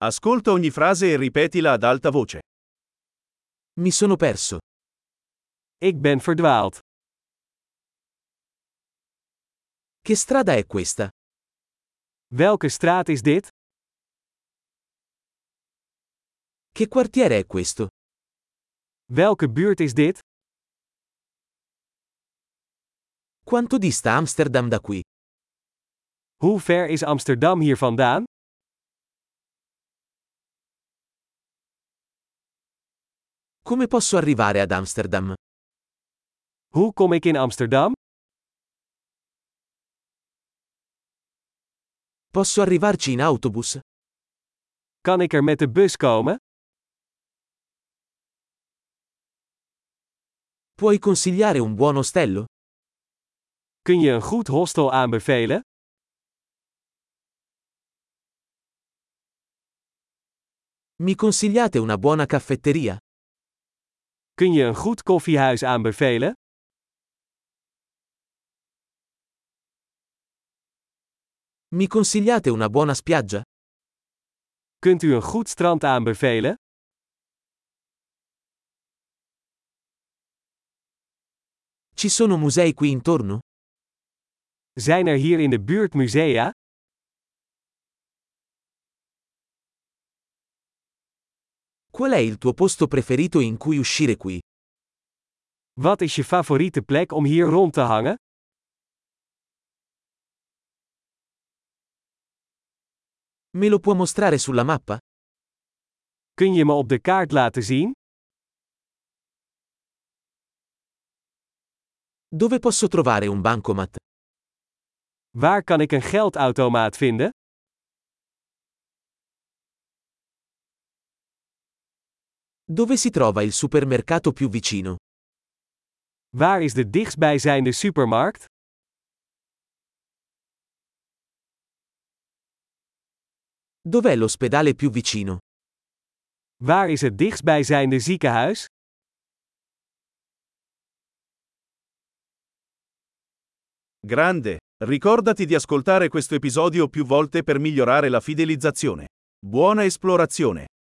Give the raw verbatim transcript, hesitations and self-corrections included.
Ascolta ogni frase e ripetila ad alta voce. Mi sono perso. Ik ben verdwaald. Che strada è questa? Welke straat is dit? Che quartiere è questo? Welke buurt is dit? Quanto dista Amsterdam da qui? Hoe ver is Amsterdam hier vandaan? Come posso arrivare ad Amsterdam? Hoe kom ik in Amsterdam? Posso arrivarci in autobus? Kan ik er met de bus komen? Puoi consigliare un buon ostello? Kun je een goed hostel aanbevelen? Mi consigliate una buona caffetteria? Kun je een goed koffiehuis aanbevelen? Mi consigliate una buona spiaggia? Kunt u een goed strand aanbevelen? Ci sono musei qui intorno? Zijn er hier in de buurt musea? Qual è il tuo posto preferito in cui uscire qui? Wat is je favoriete plek om hier rond te hangen? Me lo può mostrare sulla mappa? Kun je me op de kaart laten zien? Dove posso trovare un bancomat? Waar kan ik een geldautomaat vinden? Dove si trova il supermercato più vicino? Waar is de dichtstbijzijnde supermarkt? Dov'è l'ospedale più vicino? Waar is het dichtstbijzijnde ziekenhuis? Grande! Ricordati di ascoltare questo episodio più volte per migliorare la fidelizzazione. Buona esplorazione!